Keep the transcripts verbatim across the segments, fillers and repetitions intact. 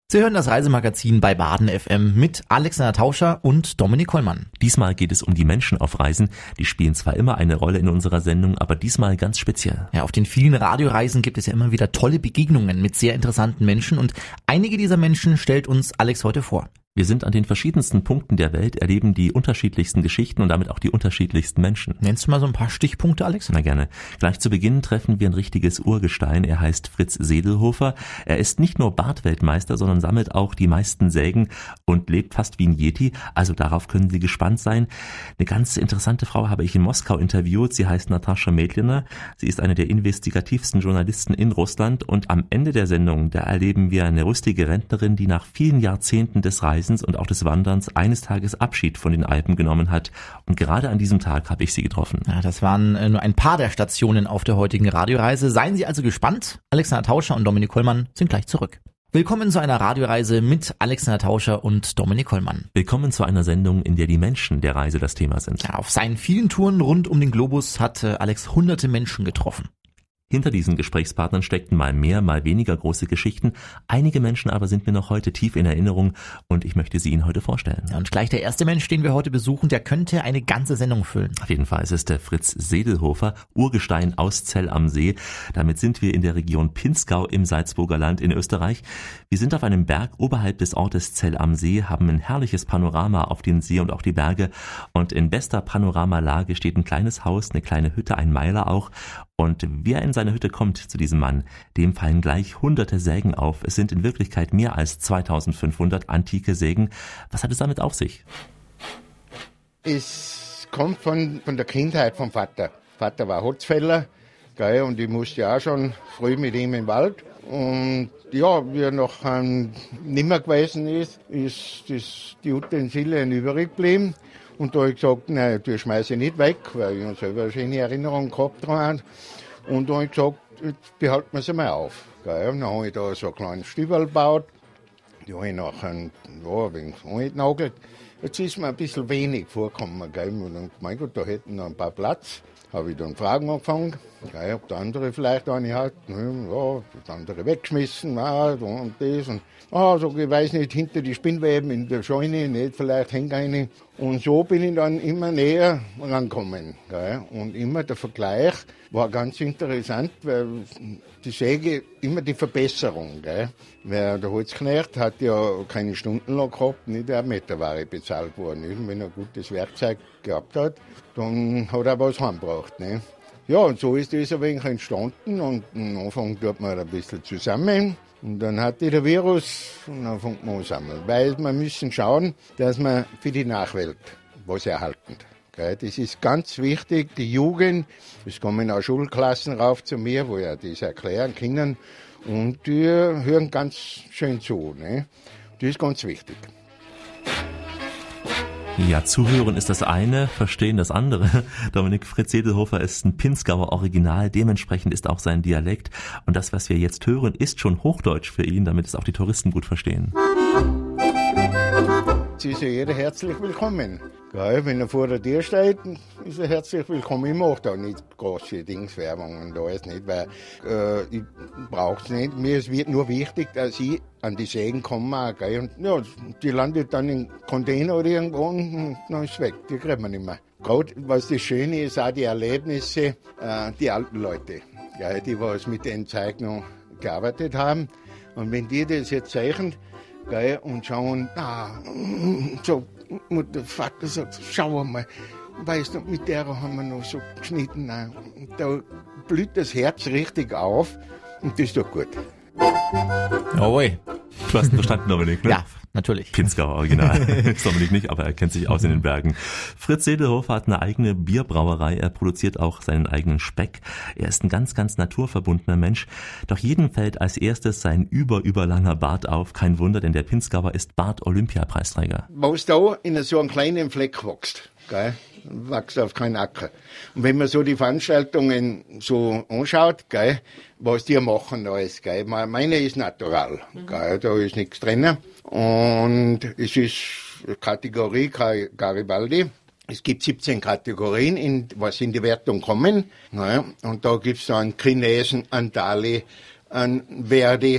Sie hören das Reisemagazin bei Baden F M mit Alexander Tauscher und Dominik Kollmann. Diesmal geht es um die Menschen auf Reisen. Die spielen zwar immer eine Rolle in unserer Sendung, aber diesmal ganz speziell. Ja, auf den vielen Radioreisen gibt es ja immer wieder tolle Begegnungen mit sehr interessanten Menschen und einige dieser Menschen stellt uns Alex heute vor. Wir sind an den verschiedensten Punkten der Welt, erleben die unterschiedlichsten Geschichten und damit auch die unterschiedlichsten Menschen. Nennst du mal so ein paar Stichpunkte, Alex? Na gerne. Gleich zu Beginn treffen wir ein richtiges Urgestein. Er heißt Fritz Sedelhofer. Er ist nicht nur Bartweltmeister, sondern sammelt auch die meisten Sägen und lebt fast wie ein Yeti. Also darauf können Sie gespannt sein. Eine ganz interessante Frau habe ich in Moskau interviewt. Sie heißt Natascha Medliner. Sie ist eine der investigativsten Journalisten in Russland. Und am Ende der Sendung, da erleben wir eine rüstige Rentnerin, die nach vielen Jahrzehnten des Reisens und auch des Wanderns eines Tages Abschied von den Alpen genommen hat. Und gerade an diesem Tag habe ich sie getroffen. Ja, das waren nur ein paar der Stationen auf der heutigen Radioreise. Seien Sie also gespannt. Alexander Tauscher und Dominik Kollmann sind gleich zurück. Willkommen zu einer Radioreise mit Alexander Tauscher und Dominik Kollmann. Willkommen zu einer Sendung, in der die Menschen der Reise das Thema sind. Ja, auf seinen vielen Touren rund um den Globus hat Alex hunderte Menschen getroffen. Hinter diesen Gesprächspartnern steckten mal mehr, mal weniger große Geschichten. Einige Menschen aber sind mir noch heute tief in Erinnerung und ich möchte sie Ihnen heute vorstellen. Ja, und gleich der erste Mensch, den wir heute besuchen, der könnte eine ganze Sendung füllen. Auf jeden Fall, es ist der Fritz Sedelhofer, Urgestein aus Zell am See. Damit sind wir in der Region Pinzgau im Salzburger Land in Österreich. Wir sind auf einem Berg oberhalb des Ortes Zell am See, haben ein herrliches Panorama auf den See und auch die Berge. Und in bester Panoramalage steht ein kleines Haus, eine kleine Hütte, ein Meiler auch. Und wer in seine Hütte kommt zu diesem Mann, dem fallen gleich hunderte Sägen auf. Es sind in Wirklichkeit mehr als zweitausendfünfhundert antike Sägen. Was hat es damit auf sich? Es kommt von, von der Kindheit vom Vater. Vater war Holzfäller, gell, und ich musste ja auch schon früh mit ihm im Wald. Und ja, wie er noch ähm, nimmer gewesen ist, ist das, die Utensilien übrig geblieben. Und da habe ich gesagt, nein, die schmeiße ich nicht weg, weil ich selber eine schöne Erinnerung gehabt habe. Und da habe ich gesagt, jetzt behalten wir sie mal auf. Gell. Und dann habe ich da so einen kleinen Stübel gebaut. Die habe ich nachher ja, ein wenig angenagelt. Jetzt ist mir ein bisschen wenig vorgekommen. Gell. Und dann, mein Gott, da hätten noch ein paar Platz. Habe ich dann Fragen angefangen, gell, ob der andere vielleicht eine hat. Ja, das andere weggeschmissen, ja, und das. Und ah, so, ich weiß nicht, hinter die Spinnweben in der Scheune, nicht, vielleicht hängt eine. Und so bin ich dann immer näher rangekommen. Gell. Und immer der Vergleich war ganz interessant, weil die Säge immer die Verbesserung. Gell. Weil der Holzknecht hat ja keine Stundenlohn gehabt, nicht eine Meterware bezahlt worden. Nicht? Wenn er ein gutes Werkzeug gehabt hat, dann hat er was heimgebracht. Ne? Ja, und so ist das ein wenig entstanden. Und am Anfang tut man ein bisschen zusammen. Und dann hatte der Virus und dann fängt man an zu sammeln. Weil wir müssen schauen, dass wir für die Nachwelt was erhalten. Das ist ganz wichtig. Die Jugend, es kommen auch Schulklassen rauf zu mir, wo ja das erklären können. Und die hören ganz schön zu. Ne? Das ist ganz wichtig. Ja, zuhören ist das eine, verstehen das andere. Dominik Fritz Sedelhofer ist ein Pinzgauer Original, dementsprechend ist auch sein Dialekt. Und das, was wir jetzt hören, ist schon Hochdeutsch für ihn, damit es auch die Touristen gut verstehen. Es ist ja jeder herzlich willkommen. Gell, wenn er vor der Tür steht, ist er herzlich willkommen. Ich mache da nicht große Dingswerbung und alles nicht, weil äh, ich brauche es nicht. Mir ist nur wichtig, dass ich an die Sägen komme. Gell, und ja, die landet dann im Container oder irgendwo und dann ist es weg. Die kriegt man nicht mehr. Gerade was das Schöne ist, auch die Erlebnisse, äh, die alten Leute, gell, die was mit den Zeichnungen gearbeitet haben. Und wenn die das jetzt zeichnen, gell, und schauen, ah, so, und der Vater sagt, schau mal, weißt du, mit der haben wir noch so geschnitten. Da blüht das Herz richtig auf und das ist doch gut. Jawohl. Du hast ihn verstanden, Dominik, ne? Ja, natürlich. Pinzgauer Original. Ist Dominik nicht, aber er kennt sich aus in den Bergen. Fritz Sedelhofer hat eine eigene Bierbrauerei. Er produziert auch seinen eigenen Speck. Er ist ein ganz, ganz naturverbundener Mensch. Doch jedem fällt als erstes sein über, überlanger Bart auf. Kein Wunder, denn der Pinzgauer ist Bart-Olympiapreisträger. Was da in so einem kleinen Fleck wächst, gell? Wächst auf keinen Acker. Und wenn man so die Veranstaltungen so anschaut, gell, was die machen alles, gell, meine ist natural, gell, da ist nichts drin. Und es ist Kategorie Garibaldi. Es gibt siebzehn Kategorien, in, was in die Wertung kommen. Ja, und da gibt's dann Chinesen, Andali, an Verdi,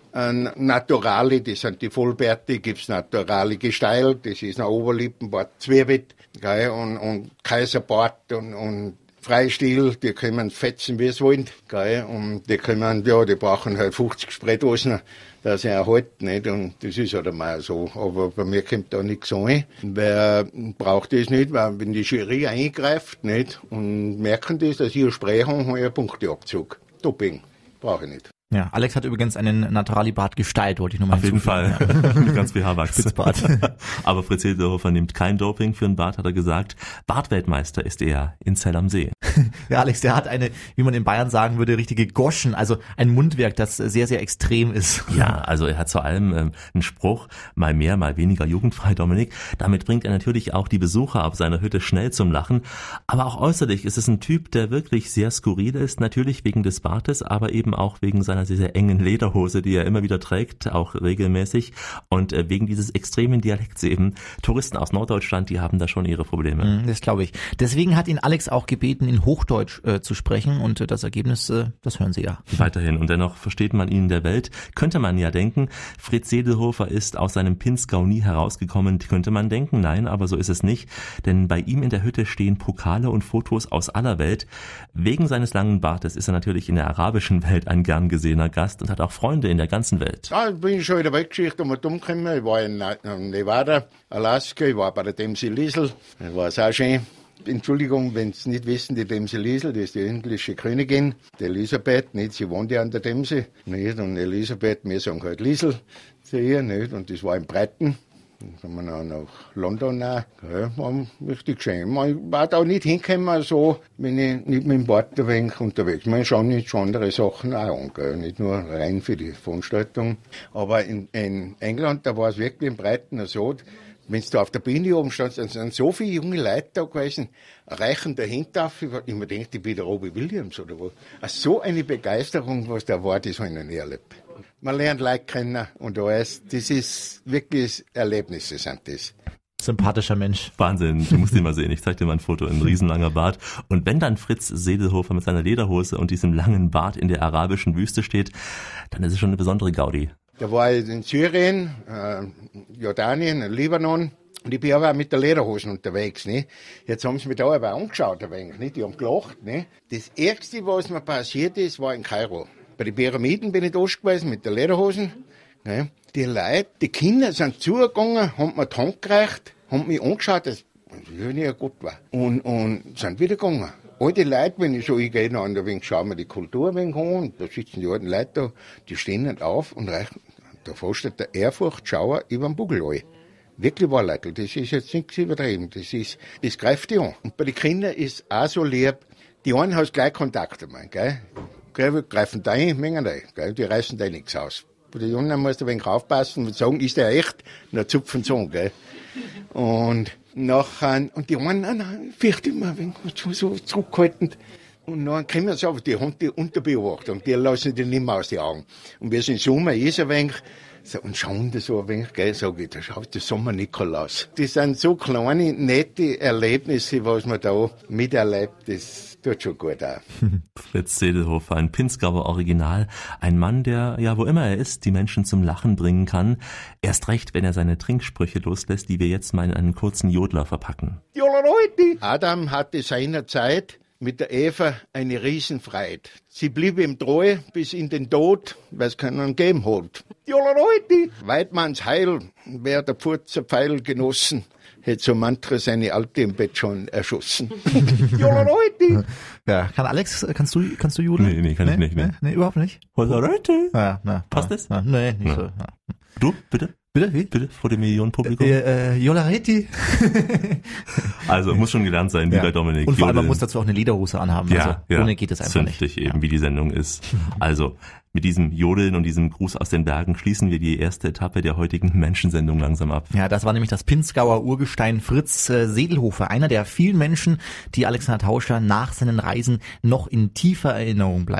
Ein Naturale, das sind die Vollbärte, gibt's Naturale Gesteil, das ist ein Oberlippenbart, Zwiebelt, gell, und, und Kaiserbart und, und Freistil, die können fetzen, wie es wollen, gell, und die können, ja, die brauchen halt fünfzig Spritdosen, dass sie erhalten, nicht, und das ist halt einmal so, aber bei mir kommt da nichts an. Wer braucht das nicht, weil wenn die Jury eingreift, nicht, und merken das, dass ich ein Spray habe, habe ich einen Punkteabzug. Doping, brauche ich nicht. Ja, Alex hat übrigens einen Naturalibart Gestalt, wollte ich nochmal Auf jeden Fall, ja. Ganz viel Haarwachs. Spitzbart. Aber Fritz Sedelhofer nimmt kein Doping für einen Bart, hat er gesagt. Bartweltmeister ist er in Zell am See. Ja, Alex, der hat eine, wie man in Bayern sagen würde, richtige Goschen, also ein Mundwerk, das sehr, sehr extrem ist. Ja, also er hat vor allem ähm, einen Spruch, mal mehr, mal weniger jugendfrei, Dominik. Damit bringt er natürlich auch die Besucher auf seiner Hütte schnell zum Lachen. Aber auch äußerlich ist es ein Typ, der wirklich sehr skurril ist, natürlich wegen des Bartes, aber eben auch wegen seiner sehr, sehr engen Lederhose, die er immer wieder trägt, auch regelmäßig. Und äh, wegen dieses extremen Dialekts eben. Touristen aus Norddeutschland, die haben da schon ihre Probleme. Das glaube ich. Deswegen hat ihn Alex auch gebeten, in Hochdeutsch äh, zu sprechen und äh, das Ergebnis, äh, das hören Sie ja. Weiterhin. Und dennoch versteht man ihn in der Welt. Könnte man ja denken, Fritz Sedelhofer ist aus seinem Pinzgau nie herausgekommen, könnte man denken. Nein, aber so ist es nicht. Denn bei ihm in der Hütte stehen Pokale und Fotos aus aller Welt. Wegen seines langen Bartes ist er natürlich in der arabischen Welt ein gern gesehener Gast und hat auch Freunde in der ganzen Welt. Ja, ich bin schon in der Weltgeschichte um und umgekommen. Ich war in Nevada, Alaska, ich war bei der Dämse Liesel. Das war auch schön. Entschuldigung, wenn Sie nicht wissen, die Dämse Liesel, die ist die englische Königin, die Elisabeth, nicht, sie wohnt ja an der Dämse, nicht, und Elisabeth, wir sagen halt Liesel zu ihr, nicht, und das war in Brighton. Dann sind wir noch nach London auch. Ja, war richtig schön. Man war da nicht hingekommen, so, wenn ich nicht mit dem Bord ein wenig unterwegs bin. Man schaut nicht schon andere Sachen auch an, gell? Nicht nur rein für die Veranstaltung. Aber in, in England, da war es wirklich in Brighton so, wenn du auf der Bühne oben standst, dann sind so viele junge Leute da gewesen, reichen dahinter auf. Ich mir denke, ich bin der Robbie Williams oder wo. So eine Begeisterung, was da war, das habe ich noch nie erlebt. Man lernt Leute kennen und alles. Das ist wirklich Erlebnisse, sind das. Sympathischer Mensch. Wahnsinn, du musst ihn mal sehen. Ich zeig dir mal ein Foto, ein riesenlanger Bart. Und wenn dann Fritz Sedelhofer mit seiner Lederhose und diesem langen Bart in der arabischen Wüste steht, dann ist es schon eine besondere Gaudi. Da war ich in Syrien, äh, Jordanien, Libanon, und ich bin aber auch mit der Lederhosen unterwegs, ne? Jetzt haben sie mich da aber angeschaut, ein wenig, ne? Die haben gelacht, ne? Das Erste, was mir passiert ist, war in Kairo. Bei den Pyramiden bin ich da gewesen mit der Lederhosen, ne? Die Leute, die Kinder sind zugegangen, haben mir die Hand gereicht, haben mich angeschaut, dass ich nicht gut war. Und, und sind wieder gegangen. All die Leute, wenn ich so hingehe, an der Wing, schauen wir die Kultur ein wenig an, und da sitzen die alten Leute da, die stehen nicht auf und reichen. Da steht der Ehrfurchtschauer über den Bugel an. Wirklich wahr, Leute, das ist jetzt nichts übertrieben, das ist, das greift die an. Und bei den Kindern ist auch so lieb, die einen hast gleich Kontakt damit, gell? Gell, greifen da ein, mengen da, gell? Die reißen da nichts aus. Bei den Jungen musst du ein wenig aufpassen und sagen, ist der echt? Na, zupfen so, gell? Und nachher, und die einen, nein, nein, fürchte immer, wenn so, so zurückhaltend. Und dann kommen sie auf, die haben die Unterbeobachtung, die lassen die nicht mehr aus den Augen. Und wir sind Sommer, ist ein wenig, so, und schauen da so ein wenig, gell, sag ich, da schaut der Sommer-Nikolaus. Das sind so kleine, nette Erlebnisse, was man da miterlebt, das tut schon gut auch. Fritz Sedelhofer, ein Pinzgauer Original, ein Mann, der, ja, wo immer er ist, die Menschen zum Lachen bringen kann. Erst recht, wenn er seine Trinksprüche loslässt, die wir jetzt mal in einen kurzen Jodler verpacken. Adam hatte seinerzeit mit der Eva eine Riesenfreude. Sie blieb ihm treu bis in den Tod, weil es keinen gegeben hat. Weidmanns Heil, wer der Pfurzer Pfeil genossen, hätte so mancher seine Alte im Bett schon erschossen. Ja, kann Alex, kannst du, kannst du jodeln? Nee, nee, kann nee, ich nicht. Nee, nee, nee überhaupt nicht. Ja, na, passt das? Na, nee, nicht ja. so. Ja. Du, bitte? Bitte, wie? Bitte, vor dem Millionenpublikum? Äh, äh, Jolareti. Also, muss schon gelernt sein, wie ja. bei Dominik. Und vor allem, man muss dazu auch eine Lederhose anhaben. Ja, also, ja. ohne geht es einfach Zünftig nicht. eben, ja. wie die Sendung ist. Also, mit diesem Jodeln und diesem Gruß aus den Bergen schließen wir die erste Etappe der heutigen Menschensendung langsam ab. Ja, das war nämlich das Pinzgauer Urgestein Fritz äh, Sedelhofer, einer der vielen Menschen, die Alexander Tauscher nach seinen Reisen noch in tiefer Erinnerung bleiben.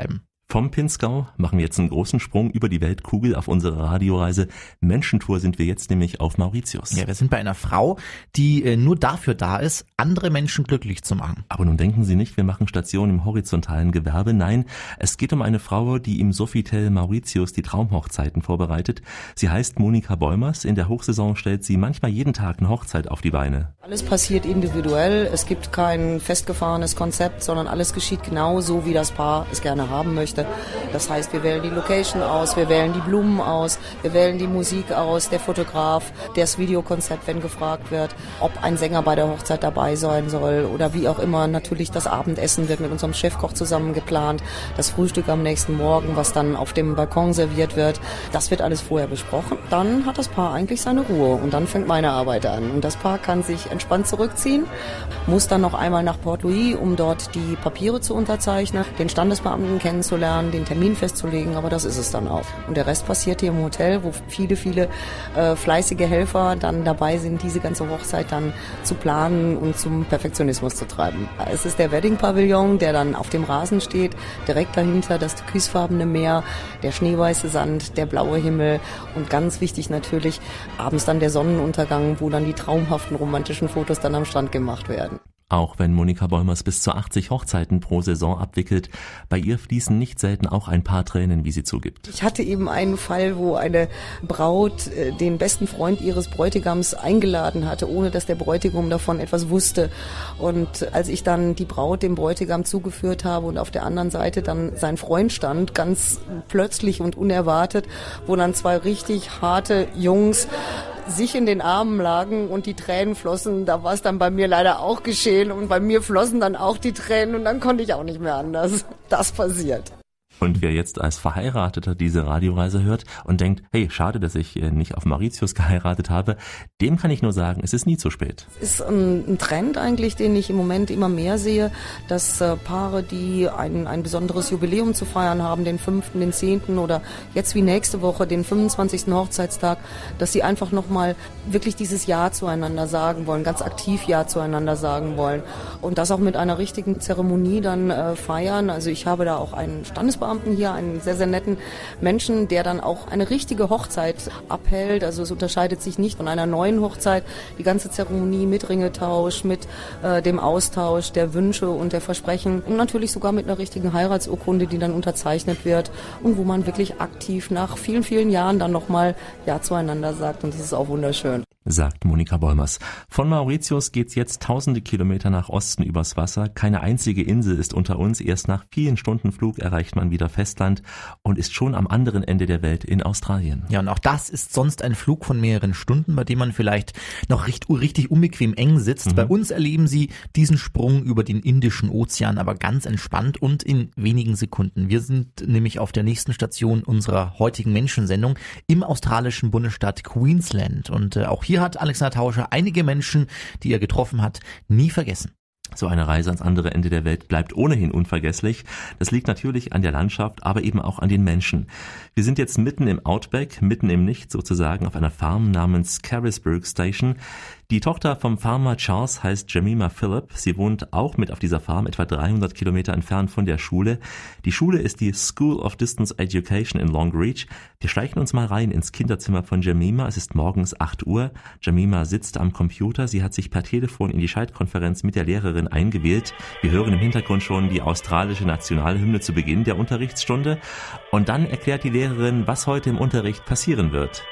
Vom Pinzgau machen wir jetzt einen großen Sprung über die Weltkugel auf unsere Radioreise. Menschentour sind wir jetzt nämlich auf Mauritius. Ja, wir sind bei einer Frau, die äh, nur dafür da ist, andere Menschen glücklich zu machen. Aber nun denken Sie nicht, wir machen Station im horizontalen Gewerbe. Nein, es geht um eine Frau, die im Sofitel Mauritius die Traumhochzeiten vorbereitet. Sie heißt Monika Beumers. In der Hochsaison stellt sie manchmal jeden Tag eine Hochzeit auf die Beine. Alles passiert individuell. Es gibt kein festgefahrenes Konzept, sondern alles geschieht genau so, wie das Paar es gerne haben möchte. Das heißt, wir wählen die Location aus, wir wählen die Blumen aus, wir wählen die Musik aus, der Fotograf, das Videokonzept, wenn gefragt wird, ob ein Sänger bei der Hochzeit dabei sein soll oder wie auch immer. Natürlich das Abendessen wird mit unserem Chefkoch zusammen geplant, das Frühstück am nächsten Morgen, was dann auf dem Balkon serviert wird, das wird alles vorher besprochen. Dann hat das Paar eigentlich seine Ruhe und dann fängt meine Arbeit an. Und das Paar kann sich entspannt zurückziehen, muss dann noch einmal nach Port Louis, um dort die Papiere zu unterzeichnen, den Standesbeamten kennenzulernen, den Termin festzulegen, aber das ist es dann auch. Und der Rest passiert hier im Hotel, wo viele, viele äh, fleißige Helfer dann dabei sind, diese ganze Hochzeit dann zu planen und zum Perfektionismus zu treiben. Es ist der Wedding-Pavillon, der dann auf dem Rasen steht, direkt dahinter das türkisfarbene Meer, der schneeweiße Sand, der blaue Himmel und ganz wichtig natürlich abends dann der Sonnenuntergang, wo dann die traumhaften romantischen Fotos dann am Strand gemacht werden. Auch wenn Monika Beumers bis zu achtzig Hochzeiten pro Saison abwickelt, bei ihr fließen nicht selten auch ein paar Tränen, wie sie zugibt. Ich hatte eben einen Fall, wo eine Braut äh, den besten Freund ihres Bräutigams eingeladen hatte, ohne dass der Bräutigam davon etwas wusste. Und als ich dann die Braut dem Bräutigam zugeführt habe und auf der anderen Seite dann sein Freund stand, ganz plötzlich und unerwartet, wo dann zwei richtig harte Jungs sich in den Armen lagen und die Tränen flossen, da war es dann bei mir leider auch geschehen und bei mir flossen dann auch die Tränen und dann konnte ich auch nicht mehr anders. Das passiert. Und wer jetzt als Verheirateter diese Radioreise hört und denkt, hey, schade, dass ich nicht auf Mauritius geheiratet habe, dem kann ich nur sagen, es ist nie zu spät. Es ist ein, ein Trend eigentlich, den ich im Moment immer mehr sehe, dass äh, Paare, die ein, ein besonderes Jubiläum zu feiern haben, den fünften, den zehnten oder jetzt wie nächste Woche, den fünfundzwanzigsten Hochzeitstag, dass sie einfach nochmal wirklich dieses Ja zueinander sagen wollen, ganz aktiv Ja zueinander sagen wollen und das auch mit einer richtigen Zeremonie dann äh, feiern. Also ich habe da auch einen Standesbeamten hier, einen sehr, sehr netten Menschen, der dann auch eine richtige Hochzeit abhält. Also es unterscheidet sich nicht von einer neuen Hochzeit. Die ganze Zeremonie mit Ringetausch, mit äh, dem Austausch der Wünsche und der Versprechen und natürlich sogar mit einer richtigen Heiratsurkunde, die dann unterzeichnet wird und wo man wirklich aktiv nach vielen, vielen Jahren dann nochmal Ja zueinander sagt und das ist auch wunderschön. Sagt Monika Beumers. Von Mauritius geht's jetzt tausende Kilometer nach Osten übers Wasser. Keine einzige Insel ist unter uns. Erst nach vielen Stunden Flug erreicht man wieder Festland und ist schon am anderen Ende der Welt in Australien. Ja, und auch das ist sonst ein Flug von mehreren Stunden, bei dem man vielleicht noch richtig, richtig unbequem eng sitzt. Mhm. Bei uns erleben Sie diesen Sprung über den Indischen Ozean aber ganz entspannt und in wenigen Sekunden. Wir sind nämlich auf der nächsten Station unserer heutigen Menschensendung im australischen Bundesstaat Queensland und äh, auch hier hat Alexander Tauscher einige Menschen, die er getroffen hat, nie vergessen. So eine Reise ans andere Ende der Welt bleibt ohnehin unvergesslich. Das liegt natürlich an der Landschaft, aber eben auch an den Menschen. Wir sind jetzt mitten im Outback, mitten im Nichts sozusagen, auf einer Farm namens Carisburg Station. Die Tochter vom Farmer Charles heißt Jemima Phillip. Sie wohnt auch mit auf dieser Farm, etwa dreihundert Kilometer entfernt von der Schule. Die Schule ist die School of Distance Education in Long Reach. Wir schleichen uns mal rein ins Kinderzimmer von Jemima. Es ist morgens acht Uhr. Jemima sitzt am Computer. Sie hat sich per Telefon in die Schaltkonferenz mit der Lehrerin eingewählt. Wir hören im Hintergrund schon die australische Nationalhymne zu Beginn der Unterrichtsstunde. Und dann erklärt die Lehrerin, was heute im Unterricht passieren wird.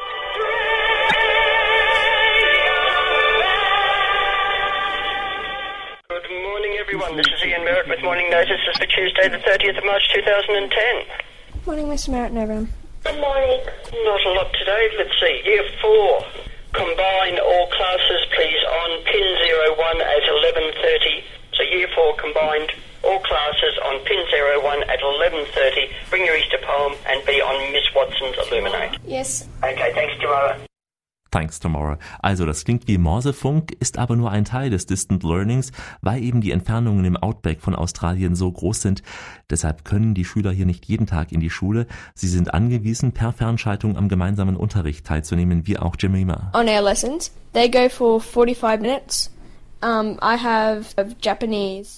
This is Ian Merritt with Morning Notices for Tuesday the thirtieth of March two thousand ten. Morning, Mister Merritt and everyone. Good morning. Not a lot today. Let's see. Year four. Combine all classes, please, on pin zero one at eleven thirty. So year four combined all classes on pin zero one at eleven thirty. Bring your Easter poem and be on Miss Watson's Illuminate. Yes. Okay, thanks, tomorrow. Thanks tomorrow. Also das klingt wie Morsefunk, ist aber nur ein Teil des Distant Learnings, weil eben die Entfernungen im Outback von Australien so groß sind. Deshalb können die Schüler hier nicht jeden Tag in die Schule. Sie sind angewiesen, per Fernschaltung am gemeinsamen Unterricht teilzunehmen, wie auch Jemima. On our lessons, they go for forty-five minutes. Um, I have Japanese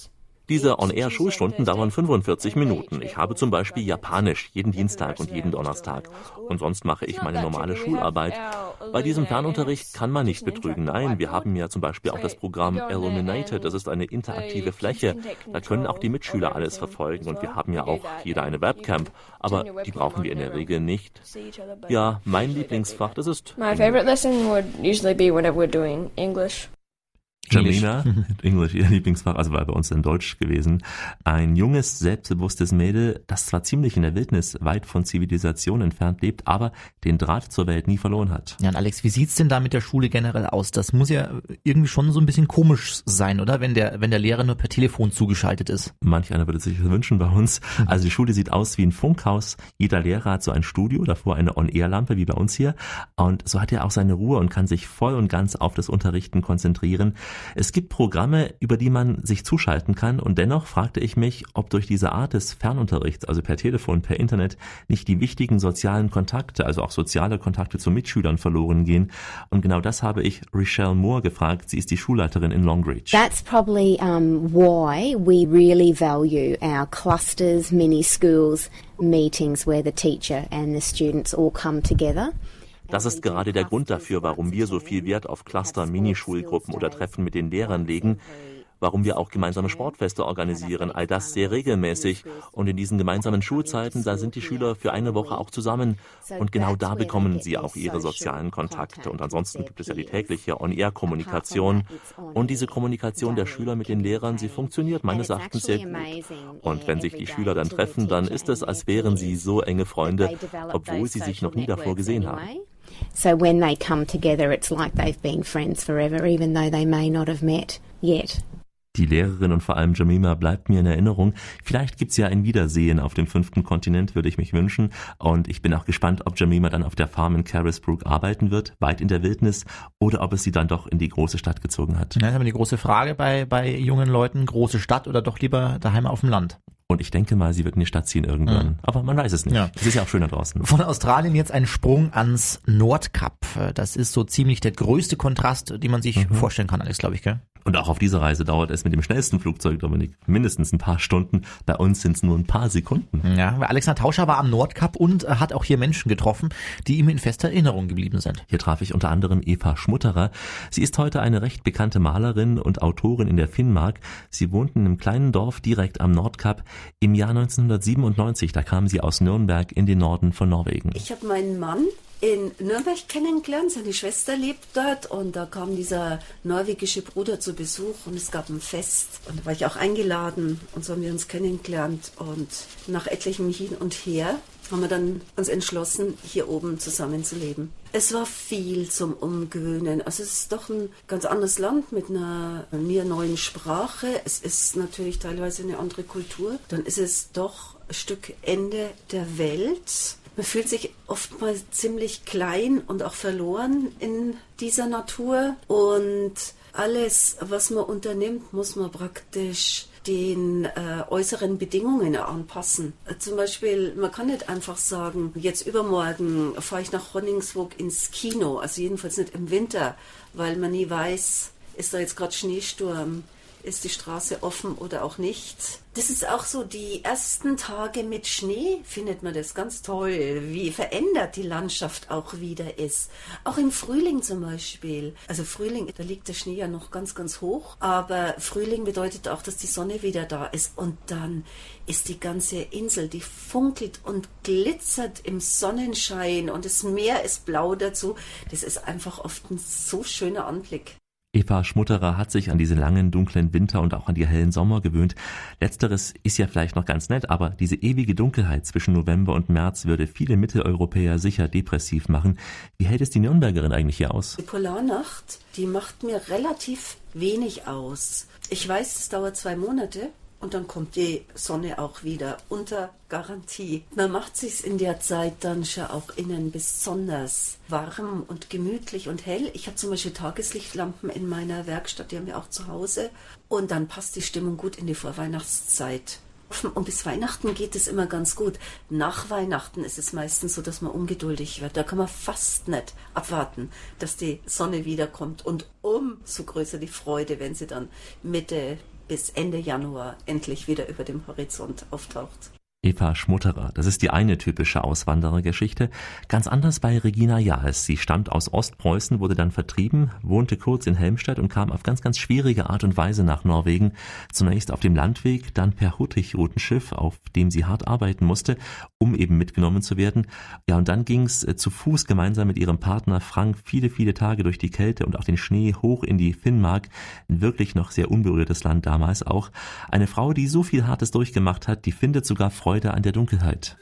Diese On-Air-Schulstunden dauern fünfundvierzig Minuten. Ich habe zum Beispiel Japanisch jeden Dienstag und jeden Donnerstag. Und sonst mache ich meine normale Schularbeit. Bei diesem Fernunterricht kann man nicht betrügen. Nein, wir haben ja zum Beispiel auch das Programm Illuminated. Das ist eine interaktive Fläche. Da können auch die Mitschüler alles verfolgen. Und wir haben ja auch jeder eine Webcam. Aber die brauchen wir in der Regel nicht. Ja, mein Lieblingsfach, das ist My favorite lesson would usually be whenever we're doing English. Jamina, Englisch, ihr Lieblingsfach, also war bei uns in Deutsch gewesen. Ein junges, selbstbewusstes Mädel, das zwar ziemlich in der Wildnis weit von Zivilisation entfernt lebt, aber den Draht zur Welt nie verloren hat. Ja, und Alex, wie sieht's denn da mit der Schule generell aus? Das muss ja irgendwie schon so ein bisschen komisch sein, oder? Wenn der, wenn der Lehrer nur per Telefon zugeschaltet ist. Manch einer würde sich das wünschen bei uns. Also die Schule sieht aus wie ein Funkhaus. Jeder Lehrer hat so ein Studio, davor eine On-Air-Lampe, wie bei uns hier. Und so hat er auch seine Ruhe und kann sich voll und ganz auf das Unterrichten konzentrieren. Es gibt Programme, über die man sich zuschalten kann, und dennoch fragte ich mich, ob durch diese Art des Fernunterrichts, also per Telefon, per Internet, nicht die wichtigen sozialen Kontakte, also auch soziale Kontakte zu Mitschülern verloren gehen. Und genau das habe ich Richelle Moore gefragt. Sie ist die Schulleiterin in Longreach. That's probably um, why we really value our clusters, mini schools, meetings where the teacher and the students all come together. Das ist gerade der Grund dafür, warum wir so viel Wert auf Cluster, Minischulgruppen oder Treffen mit den Lehrern legen, warum wir auch gemeinsame Sportfeste organisieren, all das sehr regelmäßig. Und in diesen gemeinsamen Schulzeiten, da sind die Schüler für eine Woche auch zusammen. Und genau da bekommen sie auch ihre sozialen Kontakte. Und ansonsten gibt es ja die tägliche On-Air-Kommunikation. Und diese Kommunikation der Schüler mit den Lehrern, sie funktioniert meines Erachtens sehr gut. Und wenn sich die Schüler dann treffen, dann ist es, als wären sie so enge Freunde, obwohl sie sich noch nie davor gesehen haben. So when they come together, it's like they've been friends forever, even though they may not have met yet. Die Lehrerin und vor allem Jemima bleibt mir in Erinnerung. Vielleicht gibt's ja ein Wiedersehen auf dem fünften Kontinent, würde ich mich wünschen. Und ich bin auch gespannt, ob Jemima dann auf der Farm in Carisbrooke arbeiten wird, weit in der Wildnis, oder ob es sie dann doch in die große Stadt gezogen hat. Das ist aber die große Frage bei, bei jungen Leuten, große Stadt oder doch lieber daheim auf dem Land? Und ich denke mal, sie wird in die Stadt ziehen irgendwann. Mhm. Aber man weiß es nicht. Ja. Es ist ja auch schön da draußen. Von Australien jetzt ein Sprung ans Nordkap. Das ist so ziemlich der größte Kontrast, den man sich mhm. vorstellen kann, Alex, glaube ich, gell? Und auch auf dieser Reise dauert es mit dem schnellsten Flugzeug, Dominik, mindestens ein paar Stunden. Bei uns sind es nur ein paar Sekunden. Ja, Alexander Tauscher war am Nordkap und hat auch hier Menschen getroffen, die ihm in fester Erinnerung geblieben sind. Hier traf ich unter anderem Eva Schmutterer. Sie ist heute eine recht bekannte Malerin und Autorin in der Finnmark. Sie wohnten in einem kleinen Dorf direkt am Nordkap. Im Jahr neunzehnhundertsiebenundneunzig, da kam sie aus Nürnberg in den Norden von Norwegen. Ich habe meinen Mann in Nürnberg kennengelernt, seine Schwester lebt dort, und da kam dieser norwegische Bruder zu Besuch und es gab ein Fest und da war ich auch eingeladen und so haben wir uns kennengelernt, und nach etlichem Hin und Her haben wir dann uns entschlossen, hier oben zusammen zu leben. Es war viel zum Umgewöhnen. Also es ist doch ein ganz anderes Land mit einer mir neuen Sprache. Es ist natürlich teilweise eine andere Kultur. Dann ist es doch ein Stück Ende der Welt. Man fühlt sich oftmals ziemlich klein und auch verloren in dieser Natur. Und alles, was man unternimmt, muss man praktisch den äh, äußeren Bedingungen anpassen. Zum Beispiel, man kann nicht einfach sagen, jetzt übermorgen fahre ich nach Honningsvåg ins Kino, also jedenfalls nicht im Winter, weil man nie weiß, ist da jetzt gerade Schneesturm, ist die Straße offen oder auch nicht. Das ist auch so, die ersten Tage mit Schnee findet man das ganz toll, wie verändert die Landschaft auch wieder ist. Auch im Frühling zum Beispiel. Also Frühling, da liegt der Schnee ja noch ganz, ganz hoch, aber Frühling bedeutet auch, dass die Sonne wieder da ist, und dann ist die ganze Insel, die funkelt und glitzert im Sonnenschein und das Meer ist blau dazu. Das ist einfach oft ein so schöner Anblick. Eva Schmutterer hat sich an diese langen, dunklen Winter und auch an die hellen Sommer gewöhnt. Letzteres ist ja vielleicht noch ganz nett, aber diese ewige Dunkelheit zwischen November und März würde viele Mitteleuropäer sicher depressiv machen. Wie hält es die Nürnbergerin eigentlich hier aus? Die Polarnacht, die macht mir relativ wenig aus. Ich weiß, es dauert zwei Monate. Und dann kommt die Sonne auch wieder unter Garantie. Man macht sich's in der Zeit dann schon auch innen besonders warm und gemütlich und hell. Ich habe zum Beispiel Tageslichtlampen in meiner Werkstatt, die haben wir auch zu Hause. Und dann passt die Stimmung gut in die Vorweihnachtszeit. Und bis Weihnachten geht es immer ganz gut. Nach Weihnachten ist es meistens so, dass man ungeduldig wird. Da kann man fast nicht abwarten, dass die Sonne wiederkommt. Und umso größer die Freude, wenn sie dann Mitte bis Ende Januar endlich wieder über dem Horizont auftaucht. Eva Schmutterer, das ist die eine typische Auswanderergeschichte. Ganz anders bei Regina Jahes. Sie stammt aus Ostpreußen, wurde dann vertrieben, wohnte kurz in Helmstedt und kam auf ganz, ganz schwierige Art und Weise nach Norwegen. Zunächst auf dem Landweg, dann per Hurtigrutenschiff, auf dem sie hart arbeiten musste, um eben mitgenommen zu werden. Ja, und dann ging's äh, zu Fuß gemeinsam mit ihrem Partner Frank viele, viele Tage durch die Kälte und auch den Schnee hoch in die Finnmark. Ein wirklich noch sehr unberührtes Land damals auch. Eine Frau, die so viel Hartes durchgemacht hat, die findet sogar Freude an der Dunkelheit.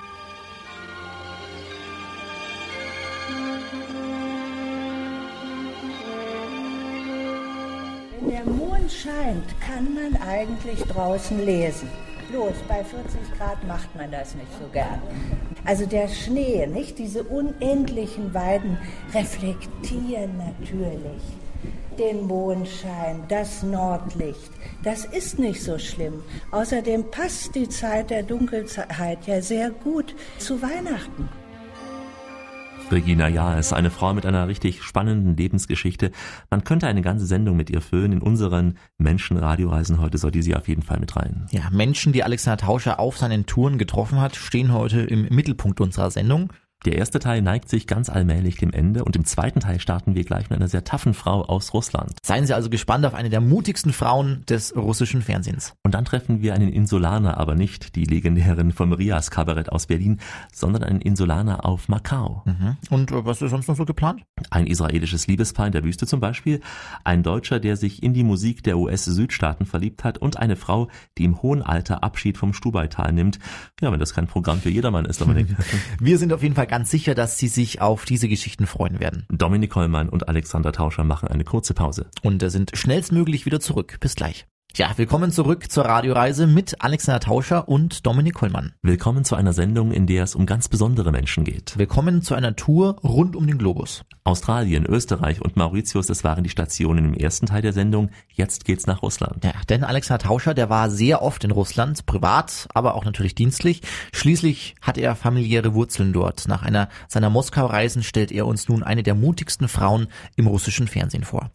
Wenn der Mond scheint, kann man eigentlich draußen lesen. Bloß bei vierzig Grad macht man das nicht so gern. Also der Schnee, nicht diese unendlichen Weiden, reflektieren natürlich den Mondschein, das Nordlicht. Das ist nicht so schlimm. Außerdem passt die Zeit der Dunkelheit ja sehr gut zu Weihnachten. Regina Jahes, eine Frau mit einer richtig spannenden Lebensgeschichte. Man könnte eine ganze Sendung mit ihr füllen. In unseren Menschen-Radioreisen heute sollte sie auf jeden Fall mit rein. Ja, Menschen, die Alexander Tauscher auf seinen Touren getroffen hat, stehen heute im Mittelpunkt unserer Sendung. Der erste Teil neigt sich ganz allmählich dem Ende und im zweiten Teil starten wir gleich mit einer sehr taffen Frau aus Russland. Seien Sie also gespannt auf eine der mutigsten Frauen des russischen Fernsehens. Und dann treffen wir einen Insulaner, aber nicht die legendären vom Rias Kabarett aus Berlin, sondern einen Insulaner auf Macau. Mhm. Und was ist sonst noch so geplant? Ein israelisches Liebespaar in der Wüste zum Beispiel, ein Deutscher, der sich in die Musik der U S-Südstaaten verliebt hat und eine Frau, die im hohen Alter Abschied vom Stubaital nimmt. Ja, wenn das kein Programm für jedermann ist, Dominik. Wir sind auf jeden Fall ganz sicher, dass Sie sich auf diese Geschichten freuen werden. Dominik Kollmann und Alexander Tauscher machen eine kurze Pause. Und sind schnellstmöglich wieder zurück. Bis gleich. Ja, willkommen zurück zur Radioreise mit Alexander Tauscher und Dominik Kollmann. Willkommen zu einer Sendung, in der es um ganz besondere Menschen geht. Willkommen zu einer Tour rund um den Globus. Australien, Österreich und Mauritius, das waren die Stationen im ersten Teil der Sendung. Jetzt geht's nach Russland. Ja, denn Alexander Tauscher, der war sehr oft in Russland, privat, aber auch natürlich dienstlich. Schließlich hat er familiäre Wurzeln dort. Nach einer seiner Moskau-Reisen stellt er uns nun eine der mutigsten Frauen im russischen Fernsehen vor.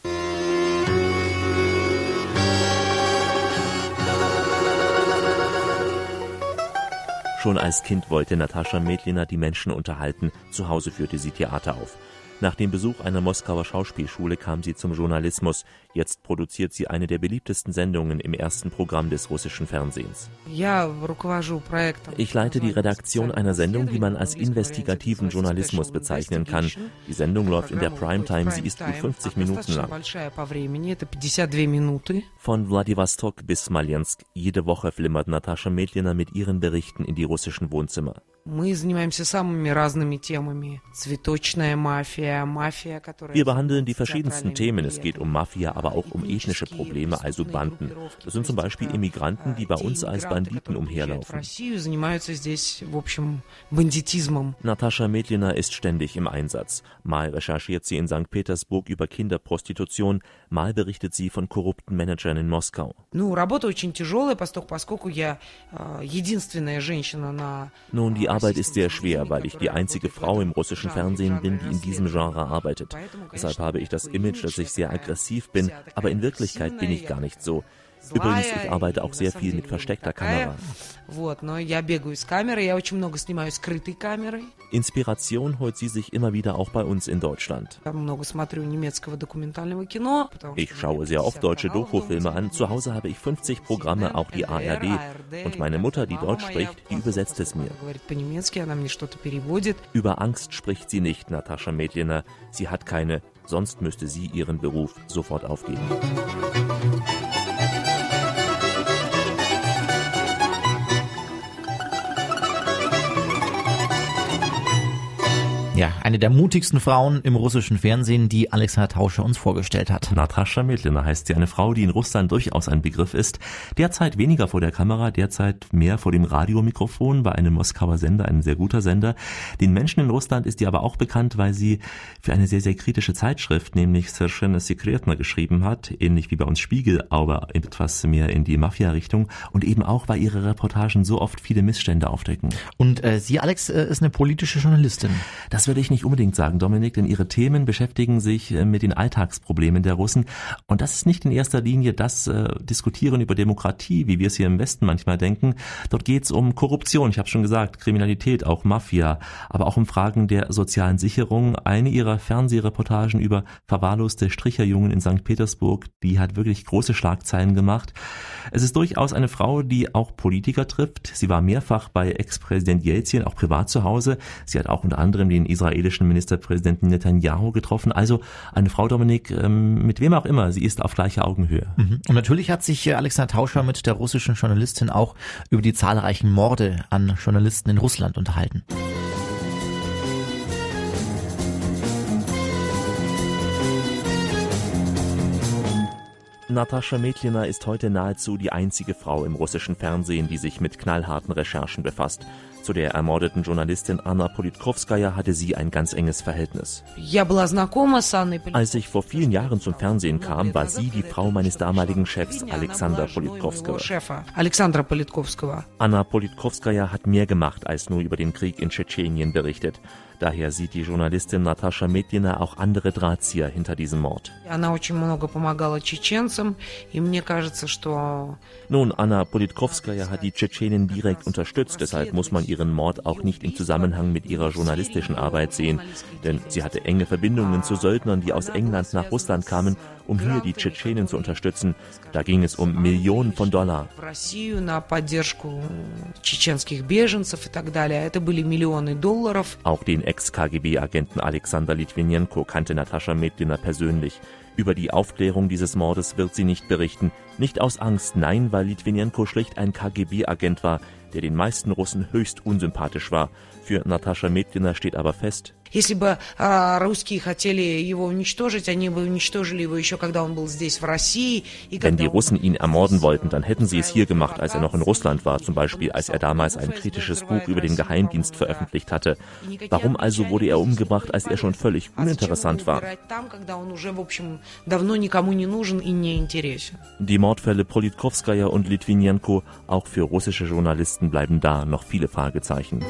Schon als Kind wollte Natascha Medlina die Menschen unterhalten. Zu Hause führte sie Theater auf. Nach dem Besuch einer Moskauer Schauspielschule kam sie zum Journalismus. Jetzt produziert sie eine der beliebtesten Sendungen im ersten Programm des russischen Fernsehens. Ich leite die Redaktion einer Sendung, die man als investigativen Journalismus bezeichnen kann. Die Sendung läuft in der Primetime, sie ist gut fünfzig Minuten lang. Von Wladiwostok bis Smolensk. Jede Woche flimmert Natascha Medlina mit ihren Berichten in die russischen Wohnzimmer. Wir behandeln die verschiedensten Themen. Es geht um Mafia, aber auch um ethnische Probleme, also Banden. Das sind zum Beispiel Immigranten, die bei uns als Banditen umherlaufen. Natascha Medlina ist ständig im Einsatz. Mal recherchiert sie in Sankt Petersburg über Kinderprostitution, mal berichtet sie von korrupten Managern in Moskau. Nun, die Arbeit ist sehr schwer, weil ich die einzige Frau im russischen Fernsehen bin, die in diesem Genre arbeitet. Deshalb habe ich das Image, dass ich sehr aggressiv bin, aber in Wirklichkeit bin ich gar nicht so. Übrigens, ich arbeite auch sehr viel mit versteckter Kamera. Inspiration holt sie sich immer wieder auch bei uns in Deutschland. Ich schaue sehr oft deutsche Dokufilme an. Zu Hause habe ich fünfzig Programme, auch die A R D. Und meine Mutter, die Deutsch spricht, die übersetzt es mir. Über Angst spricht sie nicht, Natascha Medlina. Sie hat keine, sonst müsste sie ihren Beruf sofort aufgeben. Ja, eine der mutigsten Frauen im russischen Fernsehen, die Alexander Tauscher uns vorgestellt hat. Natascha Medlina heißt sie, eine Frau, die in Russland durchaus ein Begriff ist. Derzeit weniger vor der Kamera, derzeit mehr vor dem Radiomikrofon bei einem Moskauer Sender, ein sehr guter Sender. Den Menschen in Russland ist die aber auch bekannt, weil sie für eine sehr, sehr kritische Zeitschrift, nämlich Soверshенно Sekretno, geschrieben hat, ähnlich wie bei uns Spiegel, aber etwas mehr in die Mafia-Richtung und eben auch, weil ihre Reportagen so oft viele Missstände aufdecken. Und äh, sie, Alex, äh, ist eine politische Journalistin. Das würde ich nicht unbedingt sagen, Dominik, denn ihre Themen beschäftigen sich mit den Alltagsproblemen der Russen. Und das ist nicht in erster Linie das äh, Diskutieren über Demokratie, wie wir es hier im Westen manchmal denken. Dort geht es um Korruption, ich habe schon gesagt, Kriminalität, auch Mafia, aber auch um Fragen der sozialen Sicherung. Eine ihrer Fernsehreportagen über verwahrloste Stricherjungen in Sankt Petersburg, die hat wirklich große Schlagzeilen gemacht. Es ist durchaus eine Frau, die auch Politiker trifft. Sie war mehrfach bei Ex-Präsident Jelzin, auch privat zu Hause. Sie hat auch unter anderem den israelischen Ministerpräsidenten Netanyahu getroffen. Also eine Frau, Dominik, mit wem auch immer, sie ist auf gleicher Augenhöhe. Und natürlich hat sich Alexander Tauscher mit der russischen Journalistin auch über die zahlreichen Morde an Journalisten in Russland unterhalten. Natascha Metlina ist heute nahezu die einzige Frau im russischen Fernsehen, die sich mit knallharten Recherchen befasst. Zu der ermordeten Journalistin Anna Politkovskaja hatte sie ein ganz enges Verhältnis. Als ich vor vielen Jahren zum Fernsehen kam, war sie die Frau meines damaligen Chefs, Alexander Politkovskaja. Anna Politkovskaja hat mehr gemacht, als nur über den Krieg in Tschetschenien berichtet. Daher sieht die Journalistin Natascha Metlina auch andere Drahtzieher hinter diesem Mord. Nun, Anna Politkovskaja hat die Tschetschenen direkt unterstützt, deshalb muss man ihren Mord auch nicht im Zusammenhang mit ihrer journalistischen Arbeit sehen. Denn sie hatte enge Verbindungen zu Söldnern, die aus England nach Russland kamen, um hier die Tschetschenen zu unterstützen. Da ging es um Millionen von Dollar. Auch den Ex-K G B-Agenten Alexander Litvinenko kannte Natascha Metlina persönlich. Über die Aufklärung dieses Mordes wird sie nicht berichten. Nicht aus Angst, nein, weil Litvinenko schlicht ein K G B-Agent war, der den meisten Russen höchst unsympathisch war. Für Natascha Metlina steht aber fest: Wenn die Russen ihn ermorden wollten, dann hätten sie es hier gemacht, als er noch in Russland war, zum Beispiel als er damals ein kritisches Buch über den Geheimdienst veröffentlicht hatte. Warum also wurde er umgebracht, als er schon völlig uninteressant war? Die Mordfälle Politkovskaja und Litvinenko, auch für russische Journalisten bleiben da noch viele Fragezeichen.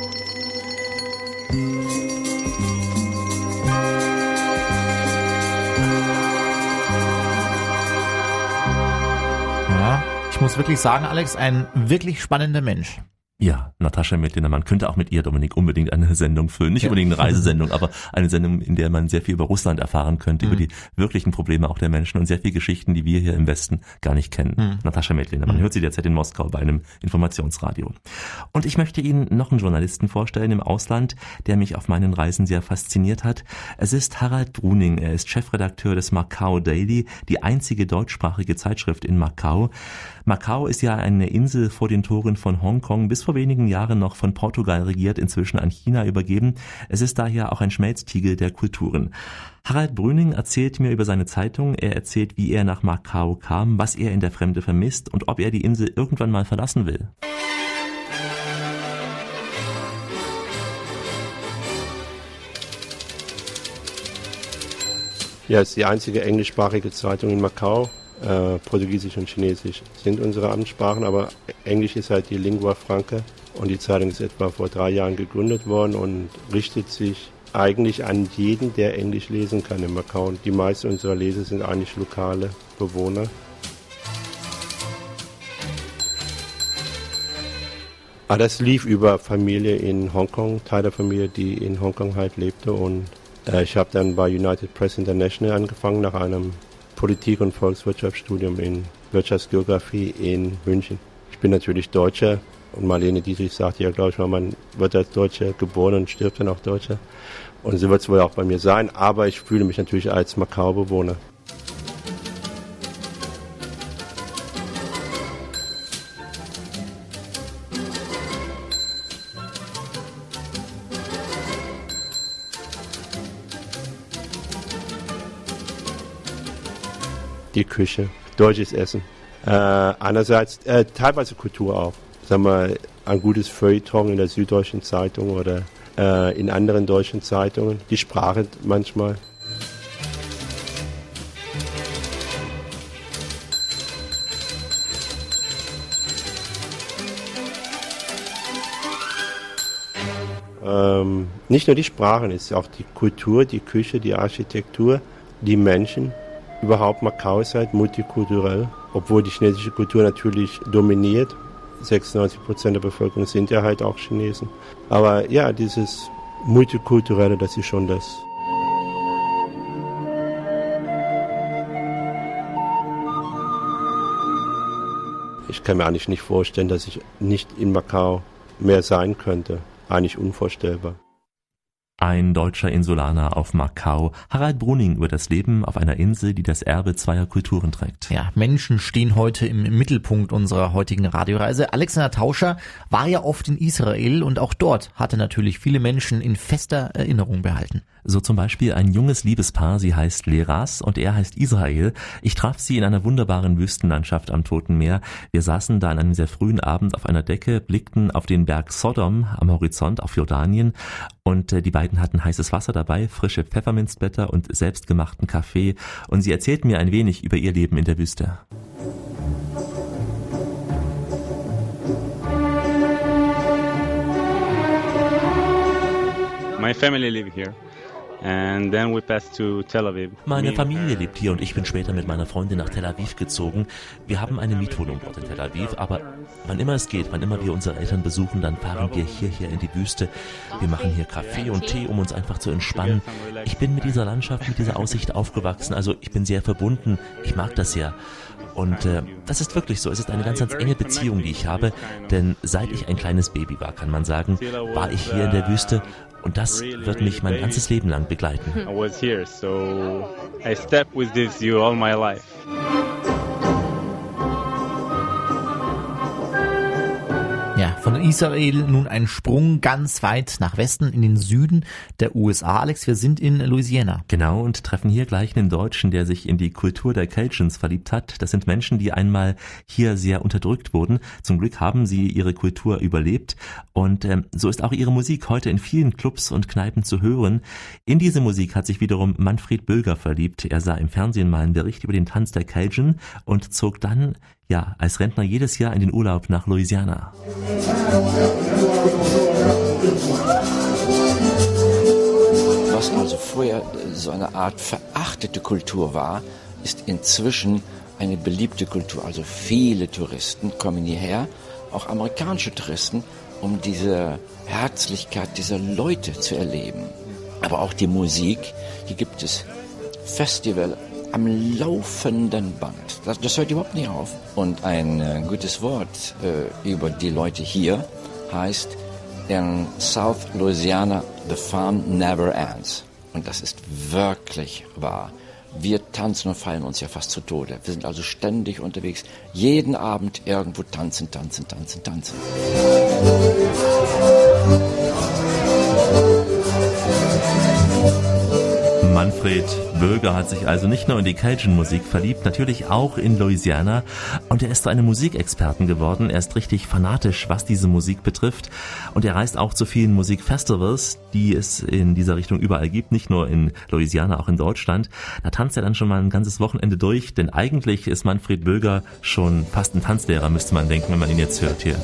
Ja, ich muss wirklich sagen, Alex, ein wirklich spannender Mensch. Ja, Natascha Metlina, man könnte auch mit ihr, Dominik, unbedingt eine Sendung füllen. Nicht ja. unbedingt eine Reisesendung, aber eine Sendung, in der man sehr viel über Russland erfahren könnte, mhm. über die wirklichen Probleme auch der Menschen und sehr viele Geschichten, die wir hier im Westen gar nicht kennen. Mhm. Natascha Metlina, man mhm. hört sie derzeit in Moskau bei einem Informationsradio. Und ich möchte Ihnen noch einen Journalisten vorstellen im Ausland, der mich auf meinen Reisen sehr fasziniert hat. Es ist Harald Bruning, er ist Chefredakteur des Macau Daily, die einzige deutschsprachige Zeitschrift in Macau. Macau ist ja eine Insel vor den Toren von Hongkong, bis vor wenigen Jahren noch von Portugal regiert, inzwischen an China übergeben. Es ist daher auch ein Schmelztiegel der Kulturen. Harald Bruning erzählt mir über seine Zeitung, er erzählt, wie er nach Macau kam, was er in der Fremde vermisst und ob er die Insel irgendwann mal verlassen will. Ja, es ist die einzige englischsprachige Zeitung in Macau. Äh, Portugiesisch und Chinesisch sind unsere Amtssprachen, aber Englisch ist halt die Lingua Franca und die Zeitung ist etwa vor drei Jahren gegründet worden und richtet sich eigentlich an jeden, der Englisch lesen kann in Macau. Und die meisten unserer Leser sind eigentlich lokale Bewohner. Aber das lief über Familie in Hongkong, Teil der Familie, die in Hongkong halt lebte und äh, ich habe dann bei United Press International angefangen nach einem Politik- und Volkswirtschaftsstudium in Wirtschaftsgeografie in München. Ich bin natürlich Deutscher und Marlene Dietrich sagte ja, glaube ich mal, man wird als Deutscher geboren und stirbt dann auch Deutscher. Und so wird es wohl auch bei mir sein, aber ich fühle mich natürlich als Macau-Bewohner. Die Küche, deutsches Essen. Äh, einerseits, äh, teilweise Kultur auch. Sagen wir, ein gutes Feuilleton in der Süddeutschen Zeitung oder äh, in anderen deutschen Zeitungen. Die Sprache manchmal. Ähm, nicht nur die Sprachen, es ist auch die Kultur, die Küche, die Architektur, die Menschen. Überhaupt Macau ist halt multikulturell, obwohl die chinesische Kultur natürlich dominiert. sechsundneunzig Prozent der Bevölkerung sind ja halt auch Chinesen. Aber ja, dieses Multikulturelle, das ist schon das. Ich kann mir eigentlich nicht vorstellen, dass ich nicht in Macau mehr sein könnte. Eigentlich unvorstellbar. Ein deutscher Insulaner auf Macau, Harald Bruning, über das Leben auf einer Insel, die das Erbe zweier Kulturen trägt. Ja, Menschen stehen heute im Mittelpunkt unserer heutigen Radioreise. Alexander Tauscher war ja oft in Israel und auch dort hatte natürlich viele Menschen in fester Erinnerung behalten. So zum Beispiel ein junges Liebespaar, sie heißt Leras und er heißt Israel. Ich traf sie in einer wunderbaren Wüstenlandschaft am Toten Meer. Wir saßen da an einem sehr frühen Abend auf einer Decke, blickten auf den Berg Sodom am Horizont, auf Jordanien und äh, die beiden hatten heißes Wasser dabei, frische Pfefferminzblätter und selbstgemachten Kaffee und sie erzählten mir ein wenig über ihr Leben in der Wüste. My family live here. And then we passed to Tel Aviv. Meine Familie lebt hier und ich bin später mit meiner Freundin nach Tel Aviv gezogen. Wir haben eine Mietwohnung dort in Tel Aviv, aber wann immer es geht, wann immer wir unsere Eltern besuchen, dann fahren wir hierher in die Wüste. Wir machen hier Kaffee und Tee, um uns einfach zu entspannen. Ich bin mit dieser Landschaft, mit dieser Aussicht aufgewachsen, also ich bin sehr verbunden. Ich mag das sehr. Und äh, das ist wirklich so. Es ist eine ganz, ganz enge Beziehung, die ich habe, denn seit ich ein kleines Baby war, kann man sagen, war ich hier in der Wüste. Und das wird mich mein ganzes Leben lang begleiten. I was here, so I stepped with this view all my life. Ja, von Israel nun ein Sprung ganz weit nach Westen in den Süden der U S A. Alex, wir sind in Louisiana. Genau, und treffen hier gleich einen Deutschen, der sich in die Kultur der Cajuns verliebt hat. Das sind Menschen, die einmal hier sehr unterdrückt wurden. Zum Glück haben sie ihre Kultur überlebt. Und ähm, so ist auch ihre Musik heute in vielen Clubs und Kneipen zu hören. In diese Musik hat sich wiederum Manfred Bölger verliebt. Er sah im Fernsehen mal einen Bericht über den Tanz der Cajun und zog dann ja, als Rentner jedes Jahr in den Urlaub nach Louisiana. Was also vorher so eine Art verachtete Kultur war, ist inzwischen eine beliebte Kultur. Also viele Touristen kommen hierher, auch amerikanische Touristen, um diese Herzlichkeit dieser Leute zu erleben. Aber auch die Musik, hier gibt es Festival am laufenden Band. Das, das hört überhaupt nicht auf. Und ein äh, gutes Wort äh, über die Leute hier heißt, in South Louisiana, the fun never ends. Und das ist wirklich wahr. Wir tanzen und feiern uns ja fast zu Tode. Wir sind also ständig unterwegs. Jeden Abend irgendwo tanzen, tanzen, tanzen, tanzen. Manfred Bölger hat sich also nicht nur in die Cajun-Musik verliebt, natürlich auch in Louisiana. Und er ist zu einem Musikexperten geworden. Er ist richtig fanatisch, was diese Musik betrifft. Und er reist auch zu vielen Musikfestivals, die es in dieser Richtung überall gibt. Nicht nur in Louisiana, auch in Deutschland. Da tanzt er dann schon mal ein ganzes Wochenende durch. Denn eigentlich ist Manfred Bölger schon fast ein Tanzlehrer, müsste man denken, wenn man ihn jetzt hört hier.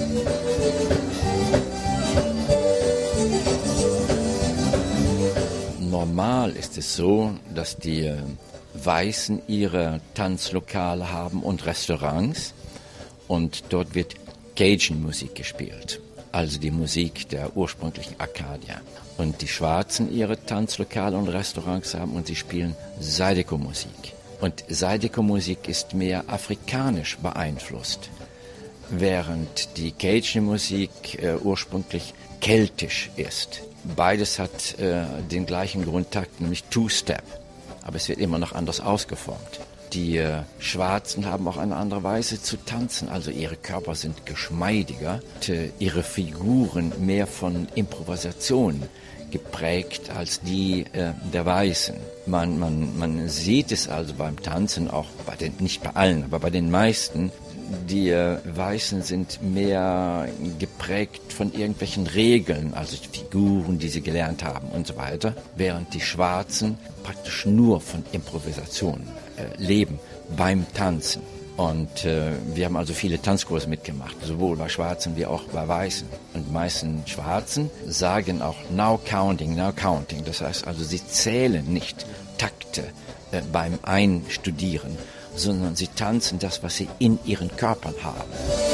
Normal ist es so, dass die Weißen ihre Tanzlokale haben und Restaurants und dort wird Cajun-Musik gespielt, also die Musik der ursprünglichen Akadier. Und die Schwarzen ihre Tanzlokale und Restaurants haben und sie spielen Zydeco-Musik. Und Zydeco-Musik ist mehr afrikanisch beeinflusst, während die Cajun-Musik äh, ursprünglich keltisch ist. Beides hat äh, den gleichen Grundtakt, nämlich Two-Step, aber es wird immer noch anders ausgeformt. Die äh, Schwarzen haben auch eine andere Weise zu tanzen, also ihre Körper sind geschmeidiger, und, äh, ihre Figuren mehr von Improvisation geprägt als die äh, der Weißen. Man, man, man sieht es also beim Tanzen, auch bei den, nicht bei allen, aber bei den meisten. Die äh, Weißen sind mehr geprägt von irgendwelchen Regeln, also Figuren, die sie gelernt haben und so weiter, während die Schwarzen praktisch nur von Improvisation äh, leben beim Tanzen. Und äh, wir haben also viele Tanzkurse mitgemacht, sowohl bei Schwarzen wie auch bei Weißen. Und die meisten Schwarzen sagen auch now counting, now counting. Das heißt also, sie zählen nicht Takte äh, beim Einstudieren, sondern sie tanzen das, was sie in ihren Körpern haben.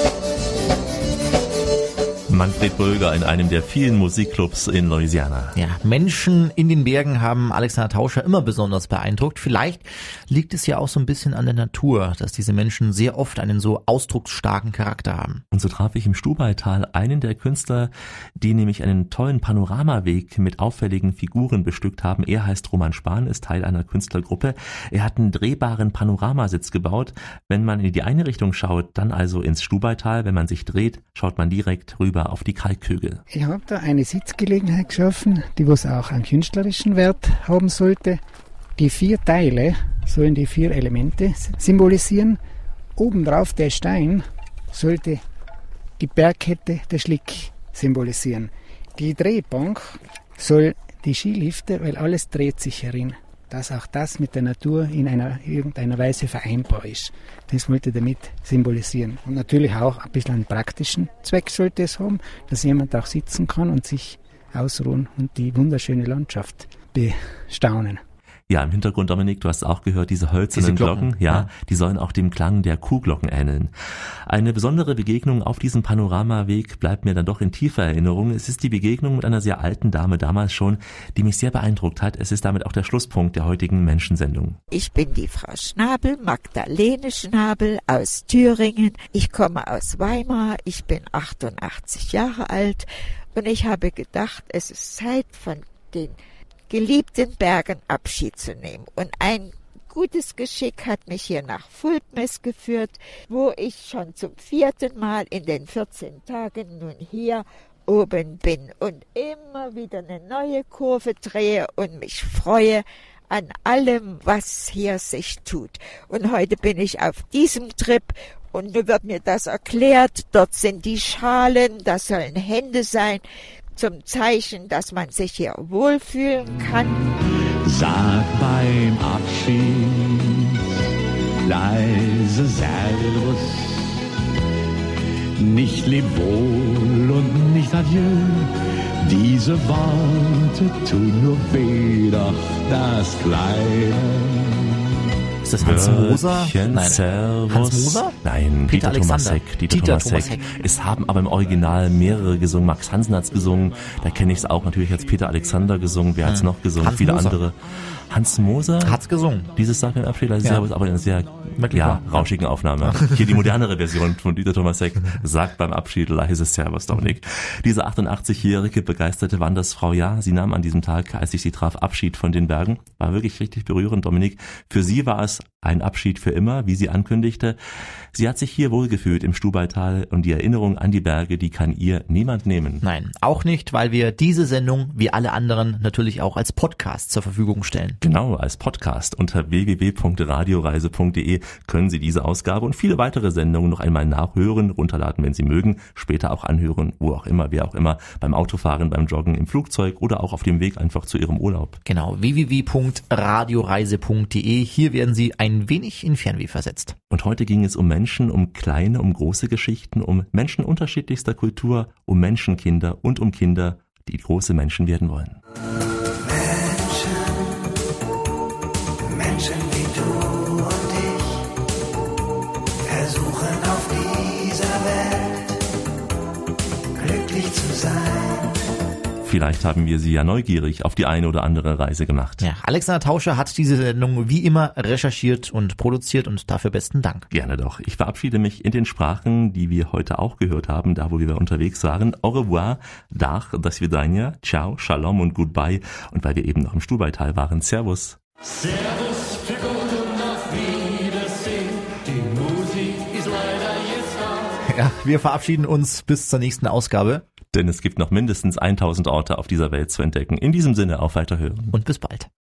Manfred Bölger in einem der vielen Musikclubs in Louisiana. Ja, Menschen in den Bergen haben Alexander Tauscher immer besonders beeindruckt. Vielleicht liegt es ja auch so ein bisschen an der Natur, dass diese Menschen sehr oft einen so ausdrucksstarken Charakter haben. Und so traf ich im Stubaital einen der Künstler, die nämlich einen tollen Panoramaweg mit auffälligen Figuren bestückt haben. Er heißt Roman Spahn, ist Teil einer Künstlergruppe. Er hat einen drehbaren Panoramasitz gebaut. Wenn man in die eine Richtung schaut, dann also ins Stubaital. Wenn man sich dreht, schaut man direkt rüber auf die Kalkhügel. Ich habe da eine Sitzgelegenheit geschaffen, die was auch einen künstlerischen Wert haben sollte. Die vier Teile sollen die vier Elemente symbolisieren. Obendrauf der Stein sollte die Bergkette, der Schlick symbolisieren. Die Drehbank soll die Skilifte, weil alles dreht sich herin. Dass auch das mit der Natur in einer irgendeiner Weise vereinbar ist. Das wollte ich damit symbolisieren. Und natürlich auch ein bisschen einen praktischen Zweck sollte es haben, dass jemand auch sitzen kann und sich ausruhen und die wunderschöne Landschaft bestaunen. Ja, im Hintergrund, Dominik, du hast auch gehört, diese hölzernen diese Glocken, Glocken ja, ja, die sollen auch dem Klang der Kuhglocken ähneln. Eine besondere Begegnung auf diesem Panoramaweg bleibt mir dann doch in tiefer Erinnerung. Es ist die Begegnung mit einer sehr alten Dame damals schon, die mich sehr beeindruckt hat. Es ist damit auch der Schlusspunkt der heutigen Menschensendung. Ich bin die Frau Schnabel, Magdalene Schnabel aus Thüringen. Ich komme aus Weimar, ich bin achtundachtzig Jahre alt und ich habe gedacht, es ist Zeit, von den geliebten Bergen Abschied zu nehmen. Und ein gutes Geschick hat mich hier nach Fulpmes geführt, wo ich schon zum vierten Mal in den vierzehn Tagen nun hier oben bin und immer wieder eine neue Kurve drehe und mich freue an allem, was hier sich tut. Und heute bin ich auf diesem Trip und nun wird mir das erklärt. Dort sind die Schalen, das sollen Hände sein, zum Zeichen, dass man sich hier wohlfühlen kann. Sag beim Abschied leise Servus, nicht leb wohl und nicht adieu. Diese Worte tun nur weh, doch das Kleine. Ist das Hans Moser? Nein. Servus. Hans Moser? Nein, Peter Dieter Thomasek. Dieter, Dieter Thomasek. Es haben aber im Original mehrere gesungen. Max Hansen hat's gesungen. Da kenne ich es auch. Natürlich hat's Peter Alexander gesungen. Wer hat's hm. noch gesungen? Hans Viele Moser. andere. Hans Moser hat's gesungen. Dieses Sag beim Abschied, also ja. Servus, aber in einer sehr ja, rauschigen Aufnahme. Hier die modernere Version von Dieter Thomasek sagt beim Abschied leise Servus, Dominik. Diese achtundachtzigjährige begeisterte Wandersfrau, ja, sie nahm an diesem Tag, als ich sie traf, Abschied von den Bergen. War wirklich richtig berührend, Dominik. Für sie war es ein Abschied für immer, wie sie ankündigte. Sie hat sich hier wohlgefühlt im Stubaital und die Erinnerung an die Berge, die kann ihr niemand nehmen. Nein, auch nicht, weil wir diese Sendung, wie alle anderen, natürlich auch als Podcast zur Verfügung stellen. Genau, als Podcast. Unter w w w punkt radioreise punkt de können Sie diese Ausgabe und viele weitere Sendungen noch einmal nachhören, runterladen, wenn Sie mögen, später auch anhören, wo auch immer, wer auch immer, beim Autofahren, beim Joggen, im Flugzeug oder auch auf dem Weg einfach zu Ihrem Urlaub. Genau, w w w punkt radioreise punkt de. Hier werden Sie ein wenig in Fernweh versetzt. Und heute ging es um Menschen, um kleine, um große Geschichten, um Menschen unterschiedlichster Kultur, um Menschenkinder und um Kinder, die große Menschen werden wollen. Menschen wie du und ich versuchen auf dieser Welt glücklich zu sein. Vielleicht haben wir Sie ja neugierig auf die eine oder andere Reise gemacht. Ja, Alexander Tauscher hat diese Sendung wie immer recherchiert und produziert und dafür besten Dank. Gerne doch. Ich verabschiede mich in den Sprachen, die wir heute auch gehört haben, da wo wir unterwegs waren. Au revoir, Dach, das Vidania, Ciao, Shalom und Goodbye. Und weil wir eben noch im Stubaital waren, Servus. Servus, für gut und auf Wiedersehen. Die Musik ist leider jetzt da. Ja, wir verabschieden uns bis zur nächsten Ausgabe. Denn es gibt noch mindestens tausend Orte auf dieser Welt zu entdecken. In diesem Sinne, auf Weiterhören. Und bis bald.